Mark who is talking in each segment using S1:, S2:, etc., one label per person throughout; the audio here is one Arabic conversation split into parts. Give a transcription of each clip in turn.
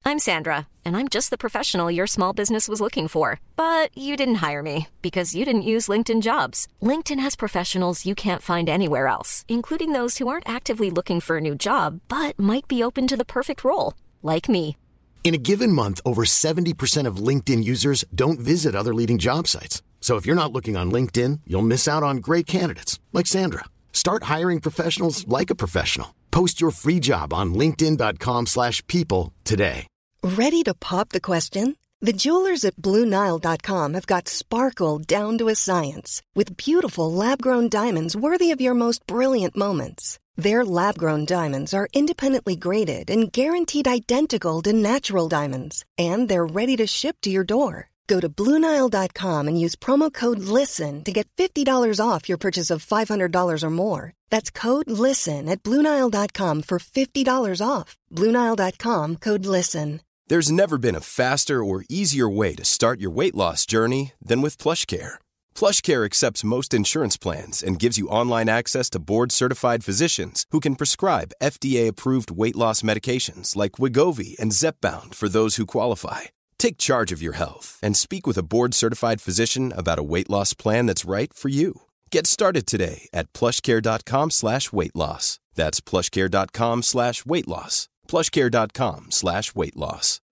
S1: I'm Sandra, and I'm just the professional your small business was looking for. But you didn't hire me because you didn't use LinkedIn Jobs. LinkedIn has professionals you can't find anywhere else, including those who aren't actively looking for a new job, but might be open to the perfect role, like me.
S2: In a given month, over 70% of LinkedIn users don't visit other leading job sites. So if you're not looking on LinkedIn, you'll miss out on great candidates like Sandra. Start hiring professionals like a professional. Post your free job on linkedin.com/people today.
S3: Ready to pop the question? The jewelers at BlueNile.com have got sparkle down to a science with beautiful lab-grown diamonds worthy of your most brilliant moments. Their lab-grown diamonds are independently graded and guaranteed identical to natural diamonds, and they're ready to ship to your door. Go to BlueNile.com and use promo code LISTEN to get $50 off your purchase of $500 or more. That's code LISTEN at BlueNile.com for $50 off. BlueNile.com, code LISTEN.
S4: There's never been a faster or easier way to start your weight loss journey than with PlushCare. PlushCare accepts most insurance plans and gives you online access to board-certified physicians who can prescribe FDA-approved weight loss medications like Wegovy and Zepbound for those who qualify. Take charge of your health and speak with a board-certified physician about a weight loss plan that's right for you. Get started today at plushcare.com/weightloss. That's plushcare.com/weightloss. plushcare.com/weightloss.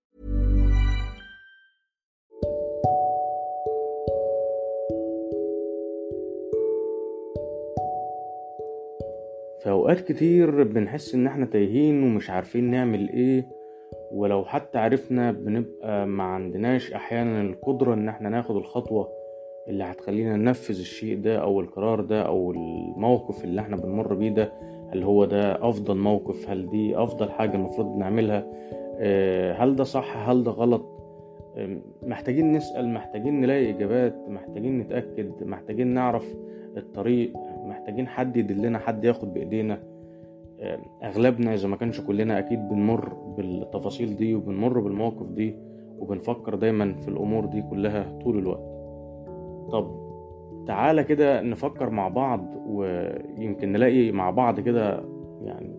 S5: في أوقات كتير بنحس إن احنا تايهين ومش عارفين نعمل إيه، ولو حتى عرفنا بنبقى ما عندناش أحيانا القدرة إن احنا ناخد الخطوة اللي هتخلينا ننفذ الشيء ده أو القرار ده أو الموقف اللي احنا بنمر بيه ده. هل هو ده أفضل موقف؟ هل دي أفضل حاجة المفروض نعملها؟ هل ده صح؟ هل ده غلط؟ محتاجين نسأل، محتاجين نلاقي إجابات، محتاجين نتأكد، محتاجين نعرف الطريق، محتاجين حد يدلنا، حد ياخد بإيدينا. أغلبنا إذا ما كانش كلنا أكيد بنمر بالتفاصيل دي وبنمر بالمواقف دي وبنفكر دايما في الأمور دي كلها طول الوقت. طب تعالى كده نفكر مع بعض، ويمكن نلاقي مع بعض كده يعني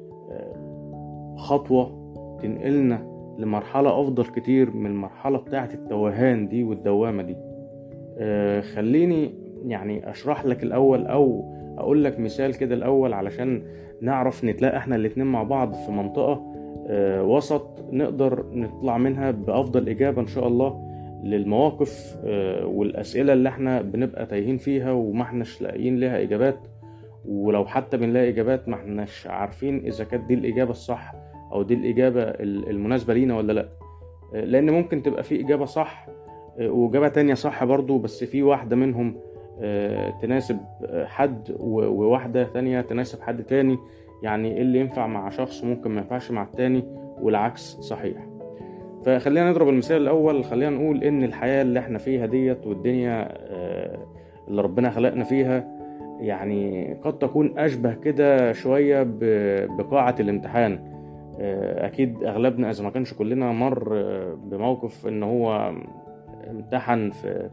S5: خطوة تنقلنا لمرحلة أفضل كتير من المرحلة بتاعة التوهان دي والدوامة دي. خليني يعني أشرح لك الأول أو أقول لك مثال كده الأول علشان نعرف نتلاقى احنا الاتنين مع بعض في منطقة وسط نقدر نطلع منها بأفضل إجابة إن شاء الله للمواقف والأسئلة اللي احنا بنبقى تايهين فيها وما احناش لاقيين لها إجابات. ولو حتى بنلاقي إجابات ما احناش عارفين إذا كانت دي الإجابة الصح أو دي الإجابة المناسبة لينا ولا لأ. لأن ممكن تبقى في إجابة صح وإجابة تانية صح برضو، بس في واحدة منهم تناسب حد وواحدة تانية تناسب حد تاني. يعني اللي ينفع مع شخص ممكن ما ينفعش مع التاني والعكس صحيح. فخلينا نضرب المثال الأول. خلينا نقول إن الحياة اللي احنا فيها ديت والدنيا اللي ربنا خلقنا فيها يعني قد تكون أشبه كده شوية بقاعة الامتحان. أكيد أغلبنا إذا ما كانش كلنا مر بموقف إن هو امتحن في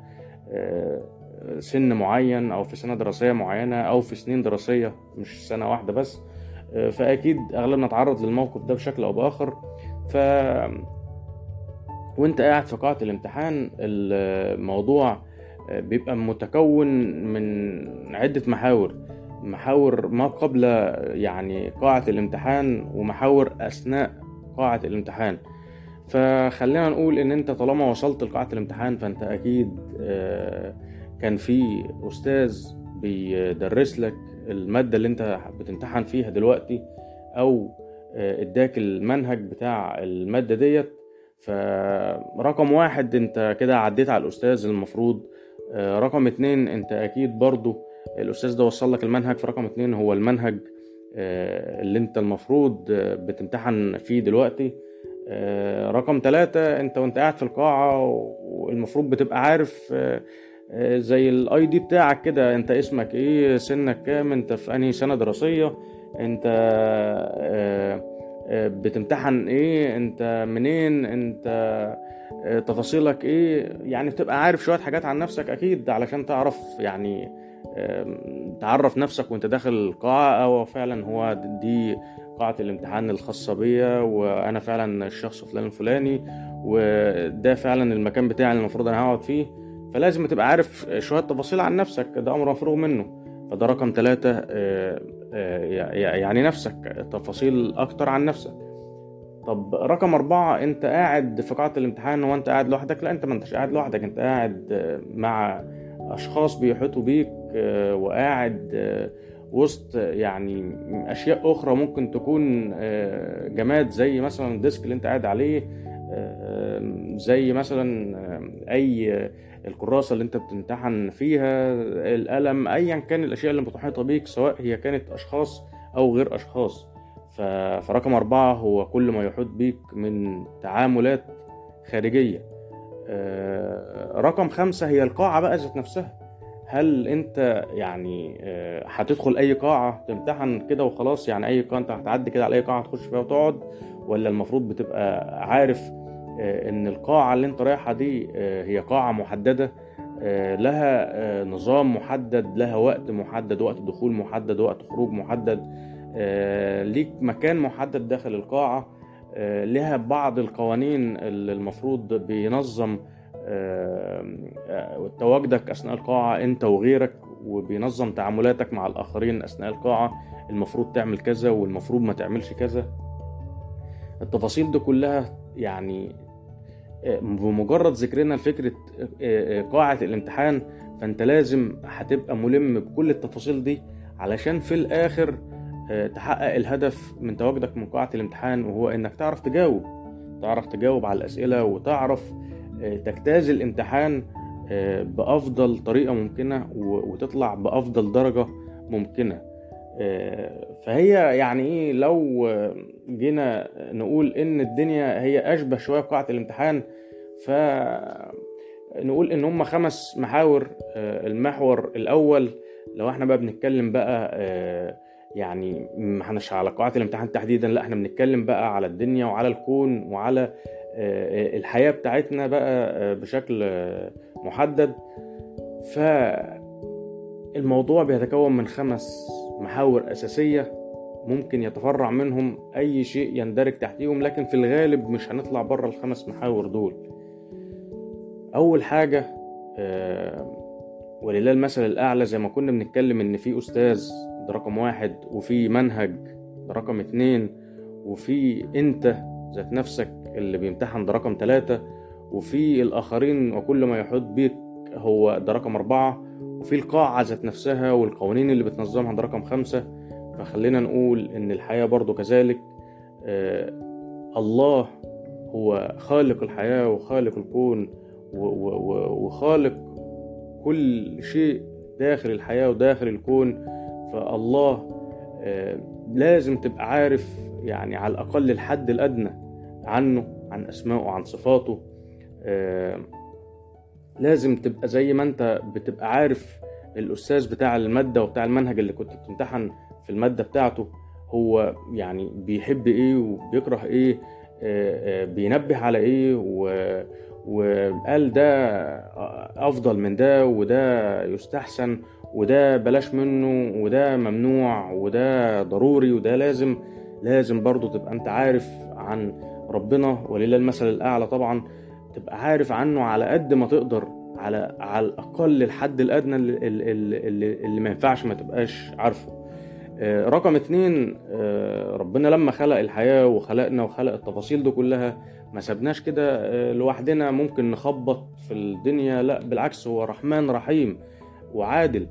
S5: سن معين أو في سنة دراسية معينة أو في سنين دراسية مش سنة واحدة بس. فأكيد أغلبنا تعرض للموقف ده بشكل أو بآخر. وانت قاعد في قاعة الامتحان الموضوع بيبقى متكون من عدة محاور ما قبل يعني قاعة الامتحان ومحاور أثناء قاعة الامتحان. فخلينا نقول ان انت طالما وصلت لقاعة الامتحان فانت اكيد كان في أستاذ بيدرس لك المادة اللي انت بتمتحن فيها دلوقتي او اداك المنهج بتاع المادة ديت. فرقم 1 انت كده عديت على الأستاذ المفروض. رقم 2 انت اكيد برضو الأستاذ ده وصل لك المنهج. فرقم 2 هو المنهج اللي انت المفروض بتمتحن فيه دلوقتي. رقم 3 انت وانت قاعد في القاعة والمفروض بتبقى عارف زي الاي دي بتاعك كده، انت اسمك ايه، سنك كام، انت في انهي سنة دراسية، انت بتمتحن ايه، انت منين، انت تفاصيلك ايه. يعني بتبقى عارف شوية حاجات عن نفسك اكيد علشان تعرف يعني تعرف نفسك وانت داخل القاعة، او فعلا هو دي قاعة الامتحان الخاصة بيا، وانا فعلا الشخص فلان الفلاني، وده فعلا المكان بتاعي اللي المفروض انا هقعد فيه. فلازم تبقى عارف شوية تفاصيل عن نفسك، ده امر مفروغ منه. فده رقم 3، يعني نفسك، تفاصيل اكتر عن نفسك. طب رقم 4، انت قاعد في قاعة الامتحان وانت قاعد لوحدك؟ لا، انت ما انتش قاعد لوحدك، انت قاعد مع اشخاص بيحيطوا بيك، وقاعد وسط يعني اشياء اخرى ممكن تكون جماد، زي مثلا الديسك اللي انت قاعد عليه، زي مثلا اي الكراسة اللي انت بتمتحن فيها، القلم، ايا كان الاشياء اللي متحيطة بيك، سواء هي كانت اشخاص او غير اشخاص. فرقم 4 هو كل ما يحيط بيك من تعاملات خارجية. رقم 5 هي القاعة بقى ذات نفسها. هل انت يعني هتدخل اي قاعة تمتحن كده وخلاص؟ يعني اي قاعة انت هتعدي كده على اي قاعة تخش فيها وتقعد، ولا المفروض بتبقى عارف ان القاعة اللي انت رايحة دي هي قاعة محددة، لها نظام محدد، لها وقت محدد، وقت دخول محدد، وقت خروج محدد، ليك مكان محدد داخل القاعة، لها بعض القوانين اللي المفروض بينظم تواجدك أثناء القاعة أنت وغيرك، وبينظم تعاملاتك مع الآخرين أثناء القاعة، المفروض تعمل كذا والمفروض ما تعملش كذا. التفاصيل دي كلها يعني بمجرد ذكرنا لفكرة قاعة الامتحان، فأنت لازم هتبقى ملم بكل التفاصيل دي علشان في الآخر تحقق الهدف من تواجدك من قاعة الامتحان، وهو انك تعرف تجاوب على الأسئلة، وتعرف تجتاز الامتحان بأفضل طريقة ممكنة، وتطلع بأفضل درجة ممكنة. فهي يعني ايه، لو جينا نقول ان الدنيا هي اشبه شوية بقاعة الامتحان، فنقول ان هم 5 محاور. المحور الاول، لو احنا بقى بنتكلم بقى يعني ما احناش على قاعة الامتحان تحديدا، لا احنا بنتكلم بقى على الدنيا وعلى الكون وعلى الحياة بتاعتنا بقى بشكل محدد. فالموضوع بيتكون من 5 محاور أساسية، ممكن يتفرع منهم أي شيء يندرج تحتيهم، لكن في الغالب مش هنطلع بره ال5 محاور دول. أول حاجة، ولله المثل الأعلى، زي ما كنا بنتكلم إن في أستاذ، ده رقم 1، وفي منهج، ده رقم 2، وفي أنت ذات نفسك اللي بيمتحن، ده رقم 3، وفي الآخرين وكل ما يحيط بيك، هو ده رقم 4، وفي القاعة ذات نفسها والقوانين اللي بتنظمها، ده رقم 5. فخلينا نقول إن الحياة برضو كذلك. الله هو خالق الحياة وخالق الكون وخالق كل شيء داخل الحياة وداخل الكون. فالله لازم تبقى عارف يعني على الأقل الحد الأدنى عنه، عن أسمائه وعن صفاته. لازم تبقى زي ما أنت بتبقى عارف الأستاذ بتاع المادة وبتاع المنهج اللي كنت بتمتحن في المادة بتاعته، هو يعني بيحب إيه وبيكره إيه، بينبه على إيه، وقال ده أفضل من ده، وده يستحسن، وده بلاش منه، وده ممنوع، وده ضروري، وده لازم برضو تبقى أنت عارف عن ربنا، ولله المثل الأعلى طبعا، تبقى عارف عنه على قد ما تقدر، على الأقل الحد الأدنى اللي ما ينفعش ما تبقاش عارفه. رقم 2، ربنا لما خلق الحياة وخلقنا وخلق التفاصيل دي كلها، ما سبناش كده لوحدنا ممكن نخبط في الدنيا، لا بالعكس، هو رحمن رحيم وعادل.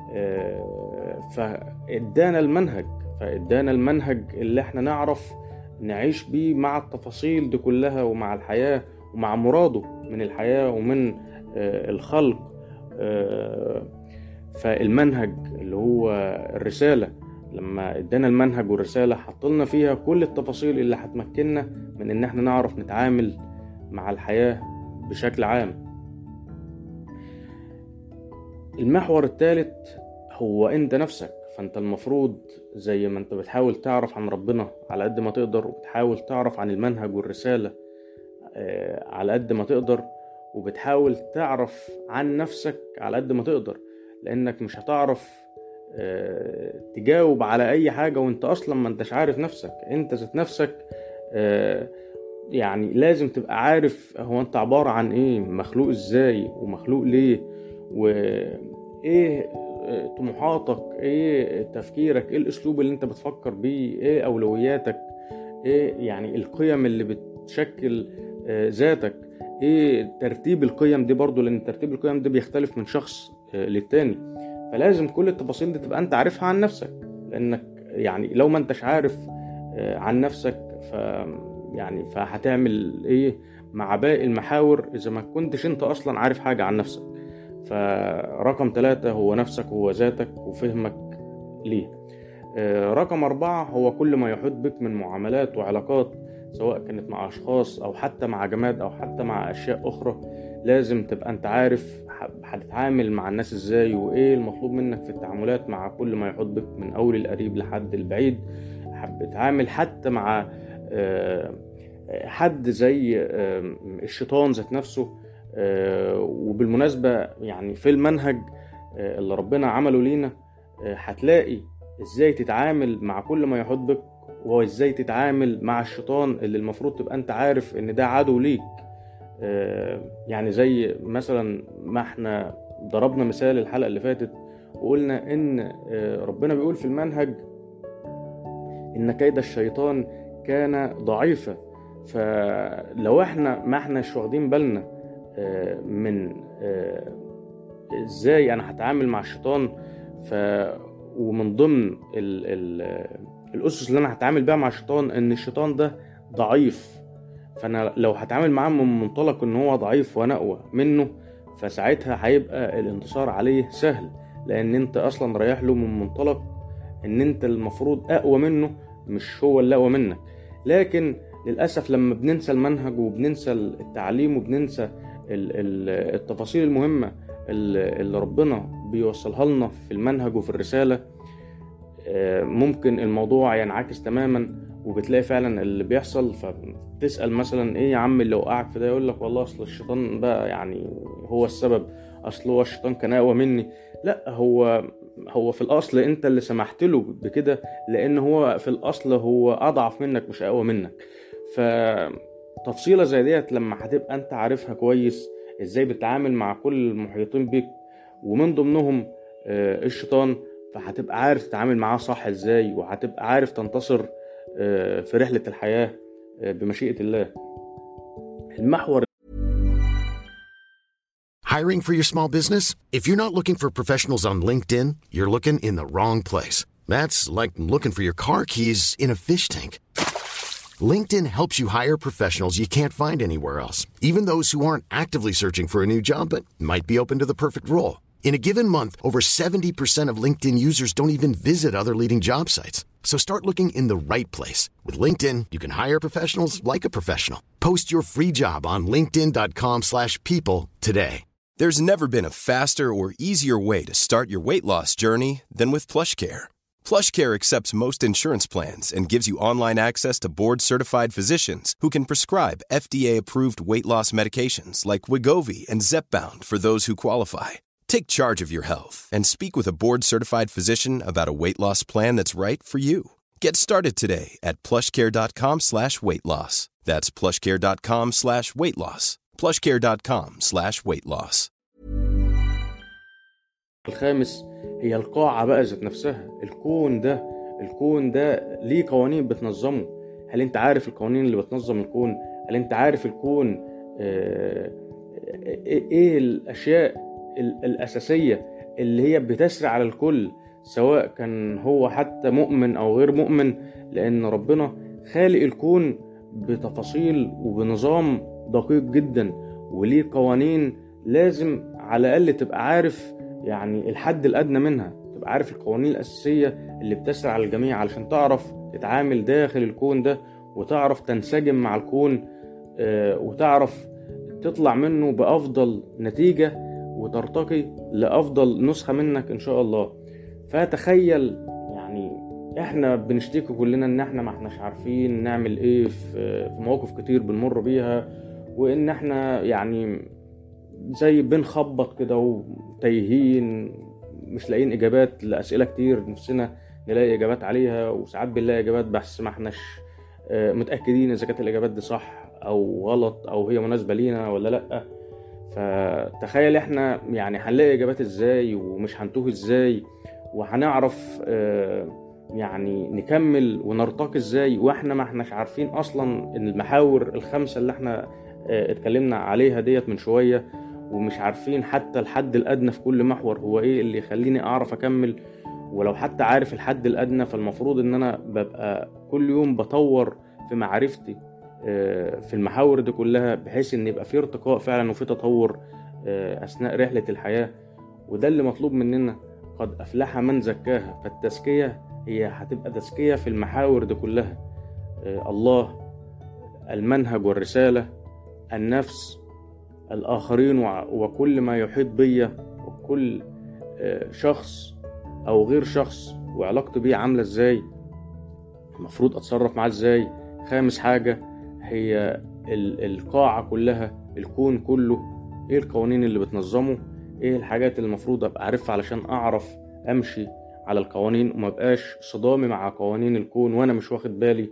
S5: فإدانا المنهج اللي احنا نعرف نعيش بيه مع التفاصيل دي كلها، ومع الحياة، ومع مراده من الحياة ومن الخلق. فالمنهج اللي هو الرسالة، لما ادانا المنهج والرسالة حطلنا فيها كل التفاصيل اللي هتمكننا من ان احنا نعرف نتعامل مع الحياة بشكل عام. المحور الثالث هو انت نفسك. فانت المفروض زي ما انت بتحاول تعرف عن ربنا على قد ما تقدر، وبتحاول تعرف عن المنهج والرسالة على قد ما تقدر، وبتحاول تعرف عن نفسك على قد ما تقدر. لانك مش هتعرف تجاوب على اي حاجة وانت اصلا ما انتش عارف نفسك. انت ذات نفسك يعني لازم تبقى عارف هو انت عبارة عن ايه، مخلوق ازاي ومخلوق ليه، وايه طموحاتك، ايه تفكيرك، ايه الاسلوب اللي انت بتفكر بيه، ايه اولوياتك، ايه يعني القيم اللي بتشكل ذاتك، ايه ترتيب القيم دي برضو، لان ترتيب القيم دي بيختلف من شخص للتاني. فلازم كل التفاصيل دي تبقى انت عارفها عن نفسك، لانك يعني لو ما انتش عارف عن نفسك يعني فهتعمل ايه مع باقي المحاور اذا ما كنتش انت اصلا عارف حاجة عن نفسك. فرقم 3 هو نفسك، هو ذاتك وفهمك ليه. رقم 4 هو كل ما يحيط بك من معاملات وعلاقات، سواء كانت مع أشخاص أو حتى مع جماد أو حتى مع أشياء أخرى. لازم تبقى أنت عارف هتتعامل مع الناس إزاي، وإيه المطلوب منك في التعاملات مع كل ما يحيط بك من أول القريب لحد البعيد. بتتعامل حتى مع حد زي الشيطان ذات نفسه. وبالمناسبة يعني في المنهج اللي ربنا عمله لينا هتلاقي ازاي تتعامل مع كل ما يحيط بك، وازاي تتعامل مع الشيطان اللي المفروض تبقى انت عارف ان ده عدو ليك. يعني زي مثلا ما احنا ضربنا مثال الحلقة اللي فاتت وقلنا ان ربنا بيقول في المنهج ان كيد الشيطان كان ضعيفا. فلو احنا ما احناش واخدين بالنا من ازاي انا هتعامل مع الشيطان، ومن ضمن الاسس اللي انا هتعامل بيها مع الشيطان ان الشيطان ده ضعيف، فانا لو هتعامل معاه من منطلق ان هو ضعيف وانا اقوى منه، فساعتها هيبقى الانتصار عليه سهل، لان انت اصلا رايح له من منطلق ان انت المفروض اقوى منه، مش هو اللي اقوى منك. لكن للاسف لما بننسى المنهج وبننسى التعليم وبننسى التفاصيل المهمة اللي ربنا بيوصلها لنا في المنهج وفي الرسالة، ممكن الموضوع ينعكس تماما، وبتلاقي فعلا اللي بيحصل. فتسأل مثلا ايه يا عم اللي وقعك في ده، يقول لك والله اصل الشيطان بقى يعني هو السبب، اصل هو الشيطان كان اقوى مني. لا، هو في الاصل انت اللي سمحت له بكده، لان هو في الاصل هو اضعف منك مش اقوى منك. فتفصيلة زي ديت لما هتبقى انت عارفها كويس ازاي بتتعامل مع كل المحيطين بيك ومن ضمنهم الشيطان، فهتبقى عارف تتعامل معاه صح ازاي، وهتبقى عارف تنتصر في رحلة الحياة بمشيئة الله. المحور.
S2: Hiring for your small business? If you're not looking for professionals on LinkedIn, you're looking in the wrong place. That's like looking for your car keys in a fish tank. LinkedIn helps you hire professionals you can't find anywhere else, even those who aren't actively searching for a new job but might be open to the perfect role. In a given month, over 70% of LinkedIn users don't even visit other leading job sites. So start looking in the right place. With LinkedIn, you can hire professionals like a professional. Post your free job on linkedin.com/people today.
S4: There's never been a faster or easier way to start your weight loss journey than with PlushCare. PlushCare accepts most insurance plans and gives you online access to board-certified physicians who can prescribe FDA-approved weight loss medications like Wegovy and Zepbound for those who qualify. Take charge of your health and speak with a board-certified physician about a weight loss plan that's right for you. Get started today at plushcare.com/weightloss. That's plushcare.com/weightloss. plushcare.com/weightloss.
S5: الخامس هي القاعة بقى ذات نفسها. الكون ده ليه قوانين بتنظمه. هل انت عارف القوانين اللي بتنظم الكون؟ هل انت عارف الكون ايه الاشياء الاساسية اللي هي بتسري على الكل، سواء كان هو حتى مؤمن او غير مؤمن؟ لان ربنا خالق الكون بتفاصيل وبنظام دقيق جدا، وليه قوانين لازم على الاقل تبقى عارف يعني الحد الادنى منها، تبقى عارف القوانين الاساسية اللي بتسري على الجميع علشان تعرف تتعامل داخل الكون ده، وتعرف تنسجم مع الكون، وتعرف تطلع منه بافضل نتيجة وترتقي لافضل نسخة منك ان شاء الله. فتخيل يعني احنا بنشتكي كلنا ان احنا ما احناش عارفين نعمل ايه في مواقف كتير بنمر بيها، وان احنا يعني زي بنخبط كده وتايهين، مش لاقيين اجابات لاسئله كتير نفسنا نلاقي اجابات عليها، وساعات بنلاقي اجابات بس ما احناش متاكدين اذا كانت الاجابات دي صح او غلط او هي مناسبه لينا ولا لا. فتخيل احنا يعني هنلاقي اجابات ازاي ومش هنتوه ازاي، وهنعرف يعني نكمل ونرتقي ازاي واحنا ما احناش عارفين اصلا المحاور الخمسه اللي احنا اتكلمنا عليها ديت من شويه، ومش عارفين حتى الحد الادنى في كل محور هو ايه اللي يخليني اعرف اكمل. ولو حتى عارف الحد الادنى فالمفروض ان انا ببقى كل يوم بطور في معرفتي في المحاور دي كلها، بحيث ان يبقى في ارتقاء فعلا وفي تطور اثناء رحله الحياه. وده اللي مطلوب مننا. قد افلح من زكاها. فالتزكيه هي هتبقى تزكيه في المحاور دي كلها: الله، المنهج والرساله، النفس، الآخرين، وكل ما يحيط بي، وكل شخص أو غير شخص وعلاقتي بيه عاملة إزاي، المفروض أتصرف معاه إزاي. خامس حاجة هي القاعة كلها، الكون كله، إيه القوانين اللي بتنظمه، إيه الحاجات اللي المفروض أبقى عارفها علشان أعرف أمشي على القوانين وما بقاش صدامي مع قوانين الكون وأنا مش واخد بالي.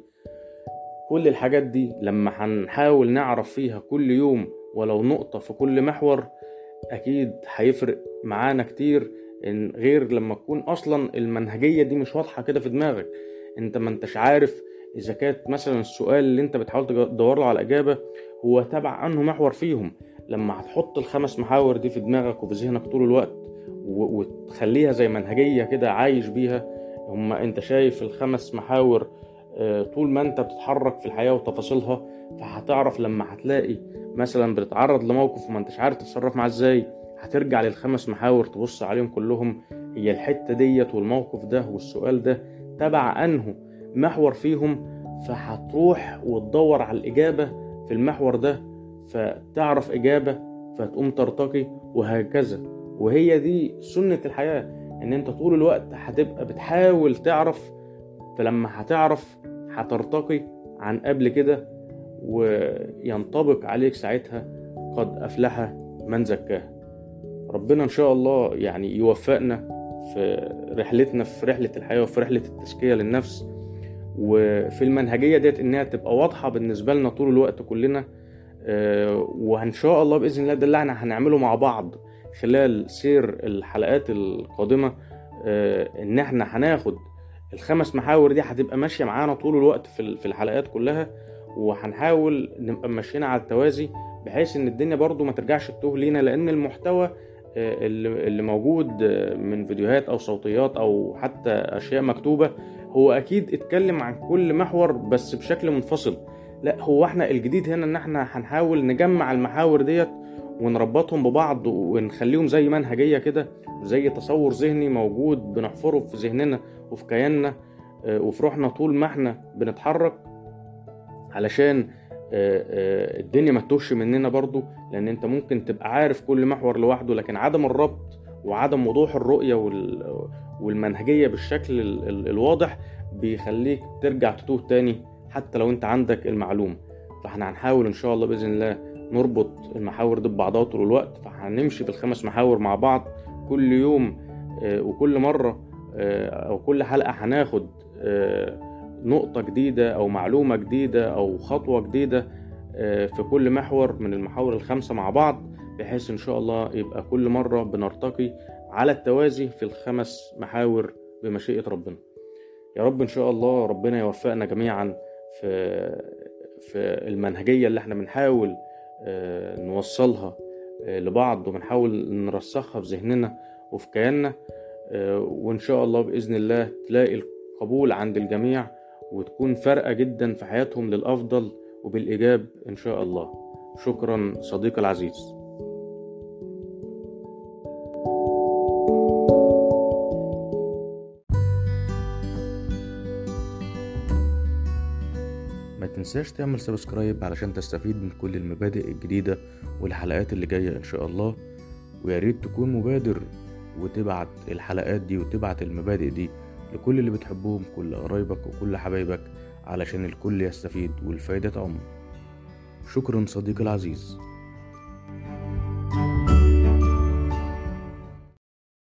S5: كل الحاجات دي لما هنحاول نعرف فيها كل يوم ولو نقطة في كل محور، أكيد هيفرق معانا كتير، إن غير لما تكون أصلا المنهجية دي مش واضحة كده في دماغك. أنت ما أنتش عارف إذا كانت مثلا السؤال اللي أنت بتحاول تدور له على إجابة هو تبع أنه محور فيهم. لما هتحط الخمس محاور دي في دماغك وفي ذهنك طول الوقت وتخليها زي منهجية كده عايش بيها، هما أنت شايف الخمس محاور طول ما أنت بتتحرك في الحياة وتفاصيلها، فهتعرف لما هتلاقي مثلا بتتعرض لموقف وما انتش عارف تتصرف معاه ازاي، هترجع للخمس محاور تبص عليهم كلهم، هي الحتة ديت والموقف ده والسؤال ده تبع انه محور فيهم، فهتروح وتدور على الإجابة في المحور ده، فتعرف إجابة فتقوم ترتقي، وهكذا. وهي دي سنة الحياة، ان انت طول الوقت هتبقى بتحاول تعرف، فلما هتعرف هترتقي عن قبل كده، وينطبق عليك ساعتها قد أفلح من زكاها. ربنا إن شاء الله يعني يوفقنا في رحلتنا، في رحلة الحياة وفي رحلة التزكية للنفس، وفي المنهجية ديت إنها تبقى واضحة بالنسبة لنا طول الوقت كلنا. وإن شاء الله بإذن الله ده اللي احنا هنعمله مع بعض خلال سير الحلقات القادمة، إن احنا هناخد الخمس محاور دي هتبقى ماشية معانا طول الوقت في الحلقات كلها، وهنحاول نبقى ماشيين على التوازي بحيث ان الدنيا برضو ما ترجعش تتوه لينا، لان المحتوى اللي موجود من فيديوهات او صوتيات او حتى اشياء مكتوبة هو اكيد اتكلم عن كل محور بس بشكل منفصل. لا، هو احنا الجديد هنا ان احنا هنحاول نجمع المحاور ديت ونربطهم ببعض ونخليهم زي منهجية كده، زي تصور ذهني موجود بنحفره في ذهننا وفي كياننا وفي روحنا طول ما احنا بنتحرك، علشان الدنيا ما تتوهش مننا برضو. لان انت ممكن تبقى عارف كل محور لوحده، لكن عدم الربط وعدم وضوح الرؤية والمنهجية بالشكل الواضح بيخليك ترجع تتوه تاني حتى لو انت عندك المعلومة. فاحنا هنحاول ان شاء الله بإذن الله نربط المحاور دي ببعضها طول الوقت، فهنمشي بالخمس محاور مع بعض كل يوم، وكل مرة او كل حلقة هناخد نقطة جديدة أو معلومة جديدة أو خطوة جديدة في كل محور من المحاور الخمسة مع بعض، بحيث إن شاء الله يبقى كل مرة بنرتقي على التوازي في الخمس محاور بمشيئة ربنا. يا رب إن شاء الله ربنا يوفقنا جميعا في المنهجية اللي احنا بنحاول نوصلها لبعض وبنحاول نرسخها في ذهننا وفي كياننا، وإن شاء الله بإذن الله تلاقي القبول عند الجميع وتكون فارقة جدا في حياتهم للأفضل وبالإيجاب إن شاء الله. شكرا صديقي العزيز. ما تنساش تعمل سبسكرايب علشان تستفيد من كل المبادئ الجديدة والحلقات اللي جاية إن شاء الله، وياريت تكون مبادر وتبعت الحلقات دي وتبعت المبادئ دي لكل اللي بتحبهم، كل قرايبك وكل حبايبك، علشان الكل يستفيد والفايدة تعم. شكرا صديقي العزيز.